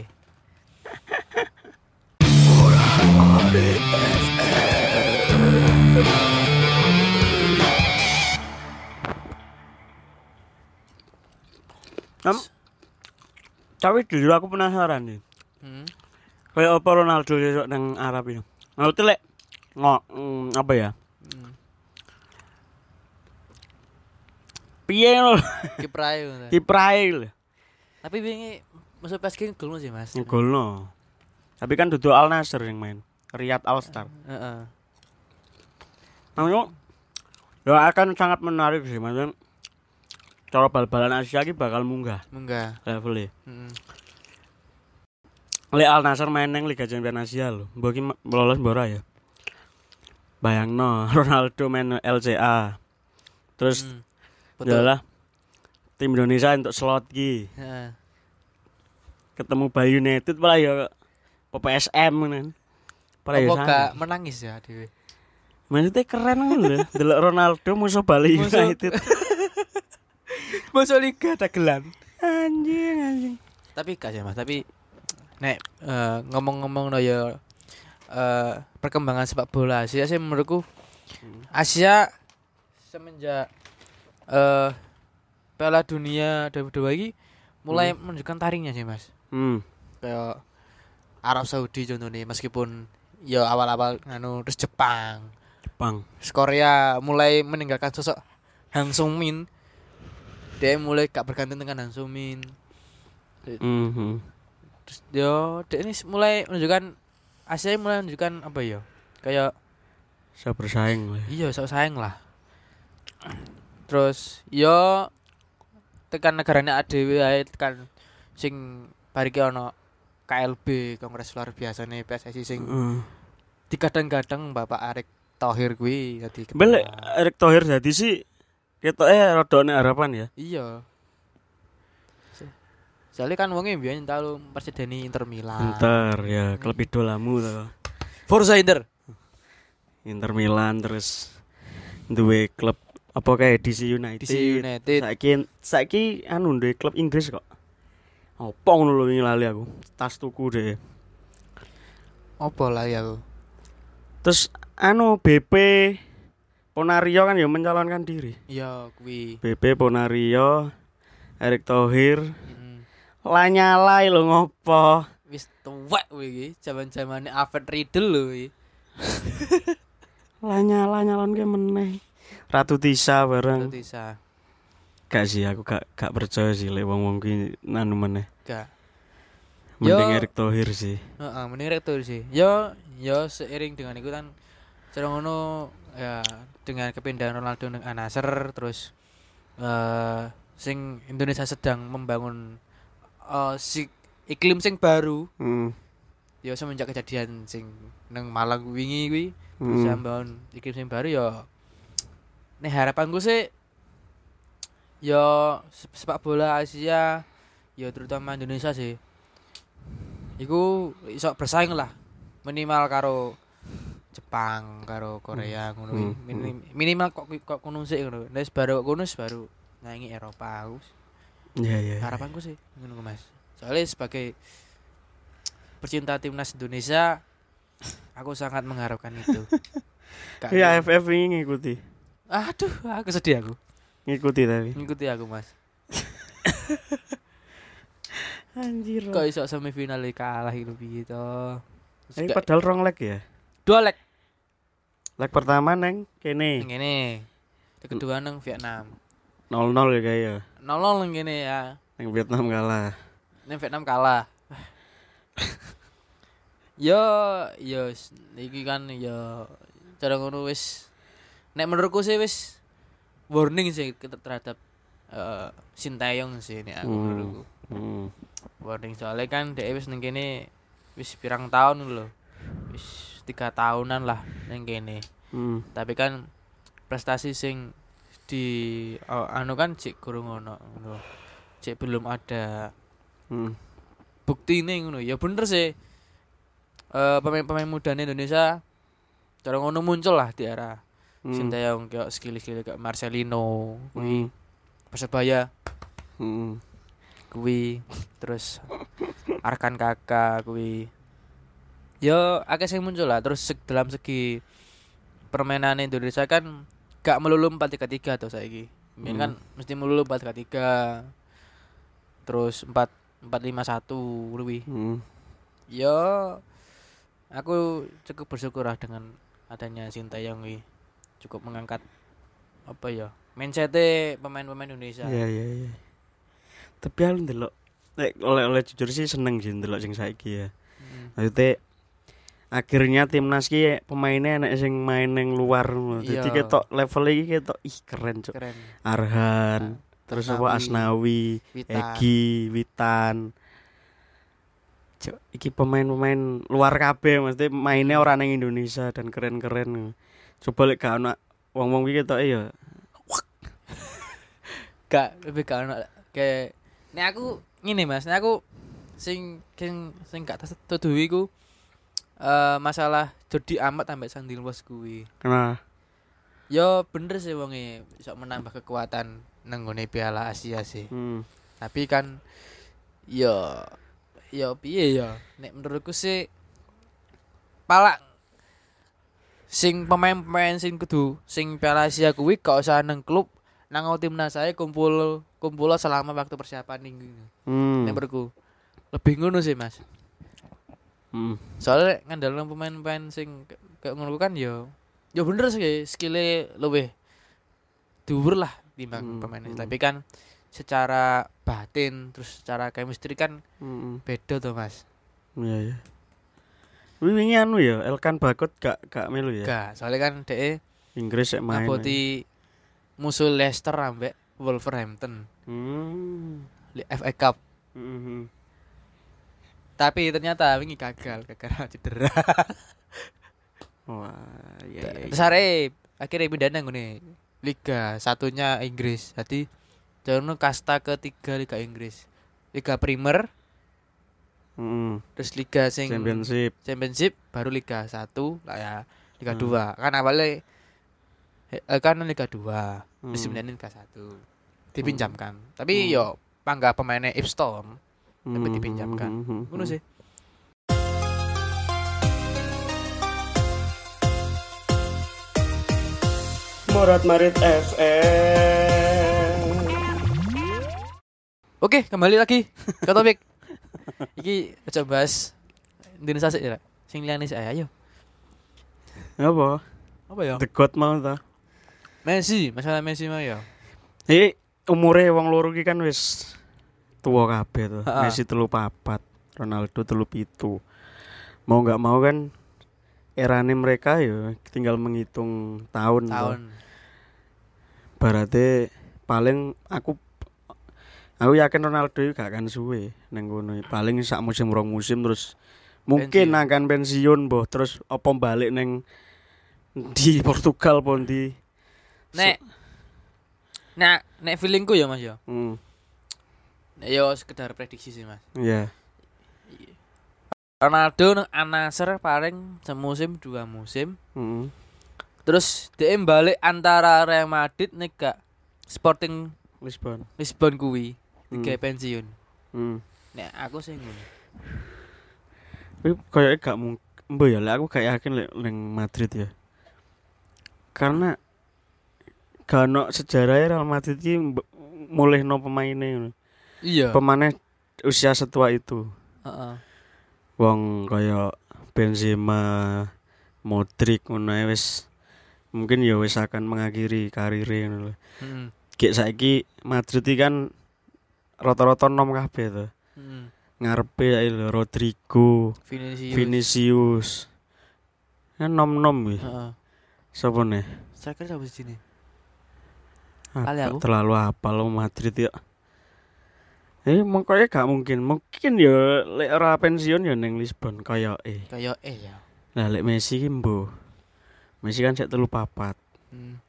Nam, tapi jujur aku penasaran nih. Hmm. Kayak apa Ronaldo besok nang Arab ini? Ngerti lek ngok mm, apa ya? Hmm. Piye lho Kiprae ngono. kiprae lho. Tapi wingi masuk P S G golno sih, Mas. Ngegolno. Tapi kan dudu Al Nassr yang main. Riyad Al Star. Heeh. Namanya ya akan sangat menarik sih, maksudnya cara bal-balan Asia ini bakal munggah Munggah. levelnya. Heeh. Lek Al Nassr main nang Liga Champions Asia lho. Mbok ki ma- lolos mbora ya. Bayangno Ronaldo main L C A. Terus Hmm. Betul. adalah tim Indonesia untuk slot ki. Heeh. Ketemu Bali United malah ya P S M kan. Malah ya Apa sana. gak menangis ya dhewe? Maksudnya keren kan lho. Delok Ronaldo musuh Bali Musuh- United. Masuk liga dagelan. Anjing anjing. Tapi gak sih, Mas, tapi nek eh, ngomong-ngomong no ya eh, perkembangan sepak bola Asia sih menurutku Asia semenjak eh Piala Dunia dua ribu dua ini mulai menunjukkan taringnya sih, Mas. Hmm. Kayak Arab Saudi contohnya meskipun ya awal-awal anu terus Jepang, Jepang. terus Korea mulai meninggalkan sosok Hang Sung-min. Dia mulai gak bergantung dengan Hang Sung-min. Mhm. Terus yo dia ini mulai menunjukkan Asia mulai menunjukkan apa ya? Kayak Bisa bersaing lah. iya sok saing lah. Terus yo tekan negaranya A D W ae tekan sing bariki ono K L B Kongres Luar Biasa nih P S S I sing Heeh. digadang-gadang Bapak Erick Thohir kuwi dadi ketua. Bel Erick Thohir dadi sih ketoke rada nek harapan ya. Iya. Soalnya kan wonge mbiyen tau presideni Inter Milan. Inter ya klub idolamu to. Forza Inter. Inter Milan terus duwe klub Apa kayak D C United. D C United. Saiki saiki anu ndek klub Inggris kok. Opo ngono lho wingi lali aku. Tas tuku deh. Apa lah ya aku. Terus anu B P Ponario kan ya mencalonkan diri. Ya kuwi. B P Ponario, Erick Thohir, Mm. lanyalai lho ngopo. Wis tuwek kuwi iki, jaman-jamane Alfred Riedel lho iki. Lanyala nyalonke meneh. Ratu Tisa bareng. Tisa. Gak sih aku gak gak percaya sih lek wong-wong ki nanu meneh. Gak. Mending Yo. Erick Thohir sih. Heeh, mending rektor sih. Yo, yo seiring dengan itu kan cara ngono ya dengan kepindahan Ronaldo nang Al-Nassr terus eh sing Indonesia sedang membangun eh si iklim sing baru. Hmm. Ya semenjak kejadian sing nang Malang wingi kuwi Hmm. bisa membangun iklim sing baru ya. Nih harapanku sih ya se- sepak bola Asia ya terutama Indonesia sih. Iku iso bersaing lah minimal karo Jepang karo Korea ngono kuwi. Hmm. Minim- minimal kok kok kono sik ngono. Nek baru kok kono baru nyanyi Eropa aku. Iya iya. Harapanku sih ngono Mas. Soalnya sebagai pecinta timnas Indonesia aku sangat mengharapkan itu. Gak Iya ada- A F F ini ngikuti. Aduh, aku sedih aku. Ngikuti tapi. Ngikuti aku, Mas. Anjir. Kok iso semifinal kalah itu piye to? Terus Ini gak- padahal rong leg ya. dua leg Leg pertama neng kene yang ini. Leg kedua nang Vietnam. nol nol ya kayak ya. nol nol nang kene ya. Neng Vietnam kalah. Nang Vietnam kalah. Yo, yo s- iki kan yo cara ngono wis nek menurutku sih wis warning sih ke- terhadap eh Sintayong sih nek aku Hmm. menurutku. Hmm. Warning soalnya kan dhek wis ning kene wis pirang tahun lho. Wis tiga tahunan lah ning kene. Hmm. Tapi kan prestasi sing di oh, anu kan cek kurang ono ngono. Cek belum ada Hmm. buktine ngono. Ya bener sih. Eh pemain-pemain muda Indonesia cara ngono muncul lah di era Hmm. Sintayong kayak skill-skill kayak Marcelino kuwi Hmm. Persebaya Hmm. kuwi terus Arkan Kakak kuwi yo akeh sing muncul lah terus seg- dalam segi permainan Indonesia kan gak melulu empat tiga tiga tuh saiki. Mungkin Hmm. kan mesti melulu empat tiga tiga terus empat empat lima satu kuwi. Hmm. Yo aku cukup bersyukur lah dengan adanya Sintayong iki. Cukup mengangkat apa ya? Mindset pemain-pemain Indonesia. Iya iya iya. Tapi aku ndelok nek oleh-oleh jujur sih seneng sih ndelok sing saiki ya. Hmm. Maksudnya akhirnya timnas ki pemainnya enak sing main ning luar ngono. Dadi Iya. ketok level iki ketok ih keren cuk. Keren. Arhan, terus apa Asnawi, Asnawi, Witan. Egi, Witan. Cuk, iki pemain-pemain luar kabeh maksudnya mainnya orang ning Indonesia dan keren-keren. Coba lek gak ono wong-wong iki ketoke ya. Gak lebih gak ono kayak nek aku ngene Mas, nek aku sing sing sing gak tertuduhi iku eh masalah Jordi Amat ambek Sandil Wos kuwi. Nah, Yo bener sih wonge iso menambah kekuatan nang ngone Piala Asia sih. hmm. Tapi kan yo yo piye ya? Nek menurutku sih palak sing pemain-pemain sing kudu sing Piala Asia kuwi gak usah nang klub nang timnas saya kumpul kumpul selama waktu persiapan ning Hmm. nek menurutku. Lebih ngono sih, Mas. Hmm. Soalnya ngandalno pemain-pemain sing ke- kayak ngono kan yo yo bener sih skillnya luwih dhuwur lah timbang Hmm, pemain hmm. tapi kan secara batin terus secara chemistry kan Hmm. beda tuh Mas. Iya ya. Wingi anu ya, Elkan Bakut gak gak melu ya. Gak, soalnya kan dhek Inggris sik main. ngaboti musuh Leicester ambek Wolverhampton Hmm. di F A Cup. Hmm. Tapi ternyata wingi gagal gara-gara cedera. Wah, iya iya. Terus are akhirnya pindah nang ngene Liga satunya Inggris. Jadi jono kasta ketiga Liga Inggris. Liga Premier, Hmm. terus Liga sing Championship. Championship baru Liga satu lah ya, Liga Hmm. dua. Kan awalnya eh, kan Liga dua, Hmm. musim ini Liga satu. Dipinjamkan. Tapi Hmm. yo pangga pemainnya Ipstorm tapi Hmm, dipinjamkan. hmm, hmm, Ngono hmm. sih. Morat Marit F M. Oke, kembali lagi ke topik. Iki aja bahas Indonesia sih ya. Sing liyane sih ayo. Apa? Apa ya? The God mau ta? Messi, masalah Messi mah ya. Iki umure wong loro iki kan wis tuwa kabeh to. Ha-ha. Messi telu papat, Ronaldo telu pitu. Mau enggak mau kan erane mereka ya tinggal menghitung tahun. Tahun. Berarti paling aku aku yakin Ronaldo itu gak akan suwe nang kono. Paling sak musim rong musim terus mungkin Pensiun. akan pensiun boh terus apa balik neng di Portugal pun di Nek Nek nek feelingku ya Mas ya. hmm, Nek yo sekedar prediksi sih Mas. ya Ronaldo nang Al-Nassr paling semusim dua musim. hmm, Terus D M balik antara Real Madrid nek gak Sporting Lisbon Lisbon kuwi Hmm. digawe pensiun. hmm. Nek aku sing ngono. Tapi kayaknya gak mungkin mbak ya lek aku gak yakin lek neng Madrid ya karena gak ono sejarahnya Real Madrid ini mulai no pemainnya Iya. pemainnya usia setua itu. Heeh. Wong kaya Benzema, Modric ngono ae wis mungkin ya wis akan mengakhiri karirnya ngono lho. Heeh. Gek saiki Madrid iki kan rata-rata nom kabeh to. Heeh. Ngarepe ae lho Rodrigo, Vinicius. Vinicius. Kan nom-nom iki. Heeh. Sopo nih? Striker siapa sih ini? Ah, Kali gak aku. terlalu hafal lo Madrid ya. Eh mengkonya gak mungkin. Mungkin ya lek ora pensiun ya neng Lisbon kaya eh. Kayak eh ya. Lah lek Messi ki mbo. Messi kan sik telu papat. Hmm.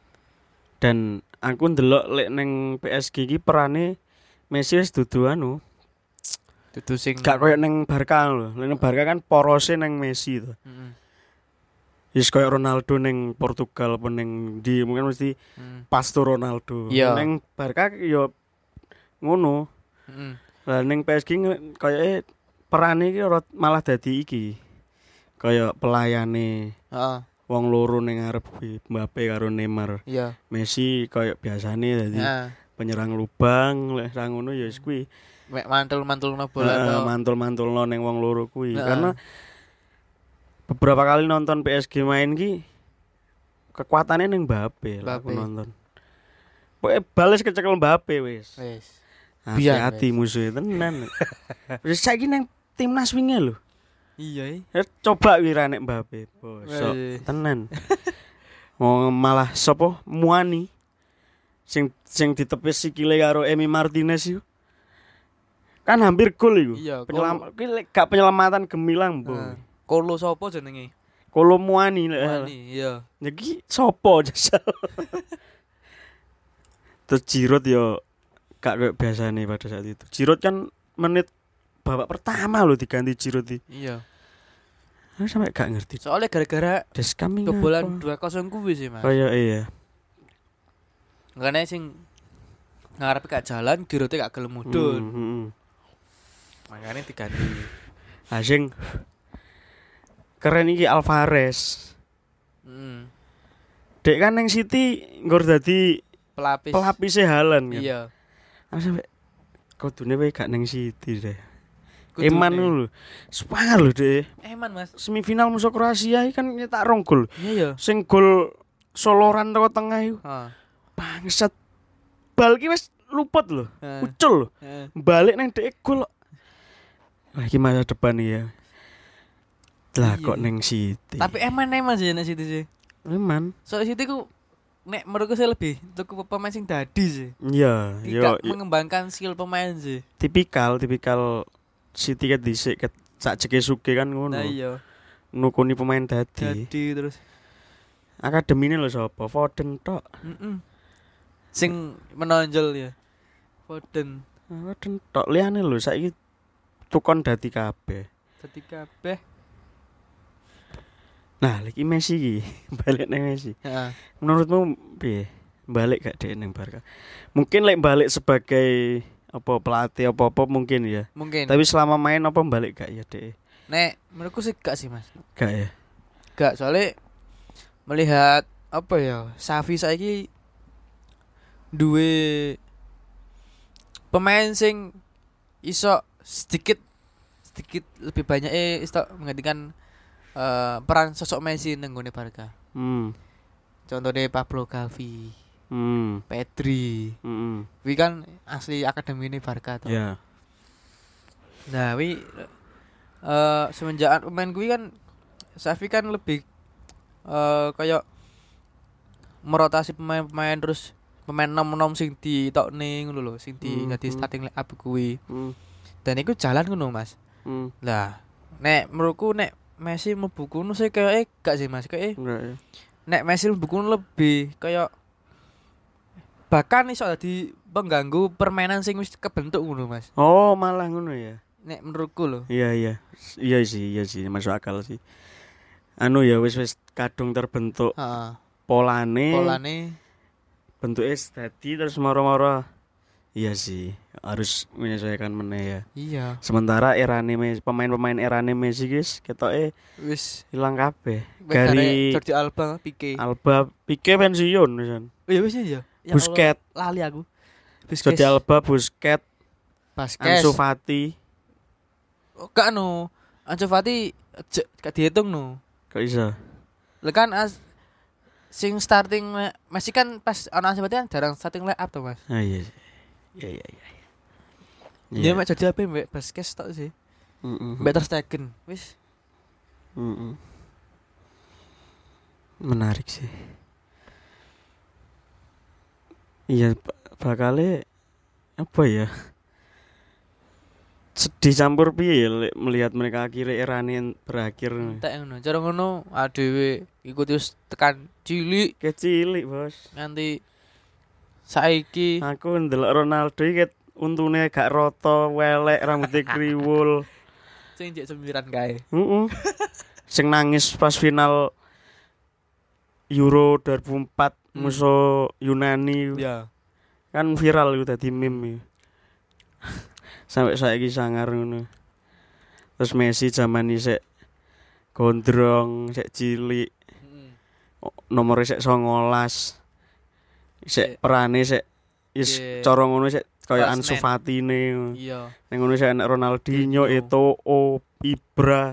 Dan aku ndelok lek neng P S G ki perane Messi wis dudu anu, Dudu sing gak koyo neng Barca lho. Neng Barca kan porose neng Messi to. Heeh. Wis koyo Ronaldo neng Portugal apa neng di mungkin mesti Hmm. pas to Ronaldo. Iya. Neng Barca yo ngono. Heeh. Lah ning P S G nge- koyoke perane iki ora- malah dadi iki. Kaya pelayane Heeh. wong loro ning ngarep kuwi, Mbappe karo Neymar. Iya. Messi kaya biasane dadi Heeh. penyerang lubang, lek ra ngono ya wis kuwi. Mek mantul-mantulno bola Heeh, to. mantul-mantulno ning wong loro kuwi. Heeh. Karena beberapa kali nonton P S G main ki kekuatannya ning Mbappe lah aku Mbappe. nonton. Pokoke bales kecekel Mbappe wis. Wes. Biar, Hati-hati musuhnya tenan. Wis saiki nang timnas wingi lho. Iya. Eh, coba wira nek Mbappe, bosok Weh. tenan. Oh malah sapa Muani sing sing ditepis sikile karo Emi Martinez iku. Kan hampir gol iku. Iya, Penyelam ki lek gak penyelamatan gemilang, Bu. Heeh. Kolo sapa jenenge? Kolo Muani lek. Wani, iya. Iki sapa jasal. Terus Giroud yo gak kayak biasane pada saat itu. Giroud kan menit babak pertama loh diganti Giroud iki. Iya. Aku sampe gak ngerti. Soalnya gara-gara Des kami kebobolan dua kosong kuwi sih, Mas. Kaya iya. Ngene sing ngarepe gak jalan, Giroud gak gelem mudhun. Hmm, hmm. Makanya diganti. Asing keren iki Alvarez. Heeh. Dek kan nang City nggur dadi Pelapis. pelapise Haaland kan. Iya. Aku sampe kudune wae gak nang City deh. Kudune. Eman lho. Sepangar lho deh. Eman, Mas. Semifinal musuh Kroasia iki kan nyetak rong gol. Iya ya. Sing gol soloran teko tengah iku. Heeh. Bangsat. Bal ki wis luput lho. Heeh. Ucul lho. Heeh. Balik nang dhek gol. Wah, iki masa depan iki ya. Lah Iya. kok nang City. Tapi eman eman sih nek City sih. Eman. Soalnya City ku nek menurutku sih lebih tuku pemain sing dadi sih. Iya, yo Tidak mengembangkan skill pemain sih. tipikal tipikal City ket dhisik ket sak Jekesuke kan ngono. Nah iya. Nukuni pemain dadi. Dadi terus. Akademine lho sapa? Foden tok. Heeh. Sing menonjol ya. Foden. Foden tok liyane lho saiki tukon dadi kabeh. Dadi kabeh. Nah, lagi Messi iki, balik nang Messi. Heeh. Menurutmu piye? Balik gak dhek ning Barca? Mungkin lek balik sebagai apa pelatih apa-apa mungkin ya. Mungkin. Tapi selama main apa balik gak ya dhek? Nek menurutku sih gak sih, Mas. Gak ya. Gak, soalnya melihat apa ya, Xavi saiki duwe pemain sing iso sedikit sedikit lebih banyak eh iso menggantikan uh, peran sosok Messi nang gone Barca. Hmm. Contohnya Pablo Gavi, Hmm. Pedri. Hmm. Wi kan asli akademi ini Barca tuh. Ya. Nah, wi uh, semenjak pemain kuwi kan Xavi kan lebih uh, kayak merotasi pemain-pemain terus pemain nom-nom sing ditokne ngono lho, sing di Hmm, dadi hmm. starting line up kuwi. Hmm. Dan iku jalan ngono, Mas. Hmm. Lah, nek menurutku nek Messi mlebu kono sih kayak gak sih, Mas. Kayak Enggak ya. nek Messi mlebu kono lebih kayak bahkan iso dadi pengganggu permainan sing wis kebentuk ngono, Mas. Oh, malah ngono ya. Nek menurutku lho. Iya iya. Iya sih, iya sih, masuk akal sih. Anu ya wis wis kadung terbentuk Heeh. polane. Polane Bentuknya dadi terus moro-moro. Iya sih, harus menyesuaikan meneh ya. iya, Sementara erane Messi, pemain-pemain erane Messi guys, ketoke wis ilang kabeh. Gari Gari Jordi Alba, Pique. Alba, Pique pensiun wisan. Oh iya wis ya. Ya Busquets, Allah, lali aku. Jordi Alba, Busquets, Basket. Ansu Fati. Oh, gak no. Ansu Fati je- gak dihitung no. Kok iso? Lah kan as sing starting le- Messi kan pas ana Ansu Fati kan jarang starting line up to, Mas. Ah iya. Iya iya iya. Dia mek jadi apa mbek basket tok sih. Heeh. Mbek Ter Stegen. Wis. Heeh. Menarik sih. Iya, bakale apa ya? Sedih campur piye lek melihat mereka akhirnya erane berakhir. Tak ngono. Cara ngono adewe iku terus tekan cilik Kecilik, Bos. nganti saiki. Aku ndelok Ronaldo iki ket untune gak rata, welek, rambutnya kriwul. Sing jek sembilan kae. Heeh. Sing nangis pas final Euro dua ribu empat Hmm. musuh Yunani. Ya. Kan viral itu tadi meme. Sampai saiki sangar ngono. Terus Messi zaman isek gondrong, isek cilik, Heeh. nomor isek songolas. Isek Isek- perane isek is Isek- cara ngono isek kaya Kelas Ansu men. Fatine. Iya. Ning ngono isek anak Ronaldinho, Ronaldinho. Eto'o, Ibra.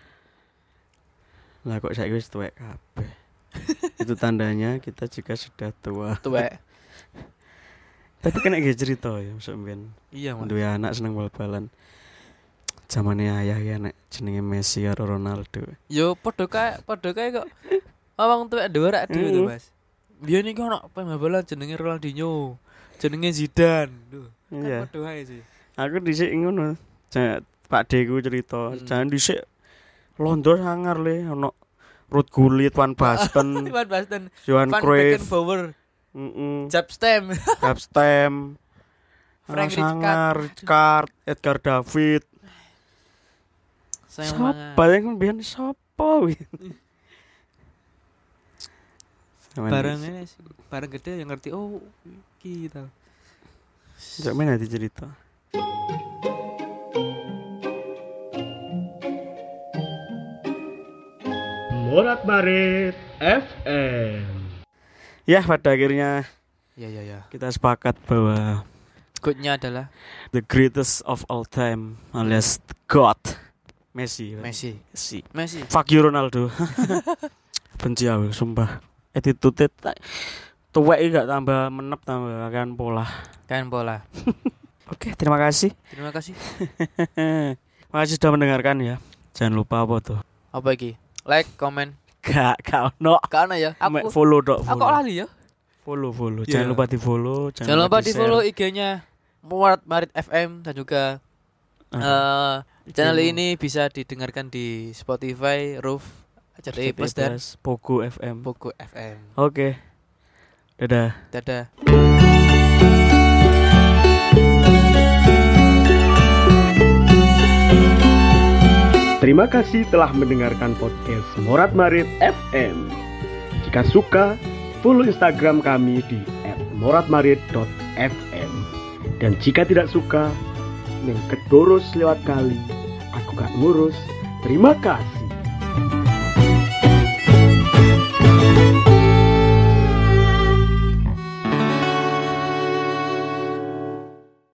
Lah kok saiki wis tuwek kabeh. Itu tandanya kita juga sudah tua. Tuwek. Tapi kena ge cerita ya, masuk mbiyen. Iya, Mas. Duwe anak seneng bal-balan. Zamane ayah ya nek jenenge Messi karo Ronaldo. Yo padha kae, padha kae kok. Awang tuwek dhuwur ade Hmm. to, Mas. Biyen iki ono pemain bola jenenge Ronaldinho, jenenge Zidane. Duh. Iya. Padha wae sih. Aku dhisik ngono. Ja- Pak Deku cerita, Hmm. jangan dhisik Londo sangar le ono Ruud Gullit, Van Basten, Van Basten, Johan Van Cruyff, Beckenbauer, heeh, Jab Stem, Kapstem, Frank Sangar, Rijkaard, Edgar David. sayang Sapa banget. yang mbiyen sapa kuwi? Barang ini sih, barang gede yang ngerti oh iki tau. Jak men nanti cerita. Morat Barit F M. Ya, pada akhirnya Ya ya ya. kita sepakat bahwa Goodnya adalah the greatest of all time alias the God Messi. Messi. Messi. Messi. Fuck you Ronaldo. Benci aku sumpah. Attitude tuwek iki gak tambah menep tambah akan pola. Kan bola. Oke, terima kasih. Terima kasih. Terima kasih sudah mendengarkan ya. Jangan lupa apa tuh? Apa iki? Like, comment. Gak, gak ono. Kan ya. Mek Aku follow dok. aku Follow. lali ya. Follow, follow. Iya. Jangan lupa di follow. Jangan lupa di di-share. follow I G-nya Murat Marit F M dan juga Ah, eh channel I G-mu. ini bisa didengarkan di Spotify, Roof, C T I Plus dan Pogo F M. Pogo F M. Oke. Dadah. Dadah. Terima kasih telah mendengarkan podcast Morat Marit F M. Jika suka, follow Instagram kami di et moratmarit dot f m. Dan jika tidak suka, neng kedurus lewat kali, aku gak ngurus. Terima kasih.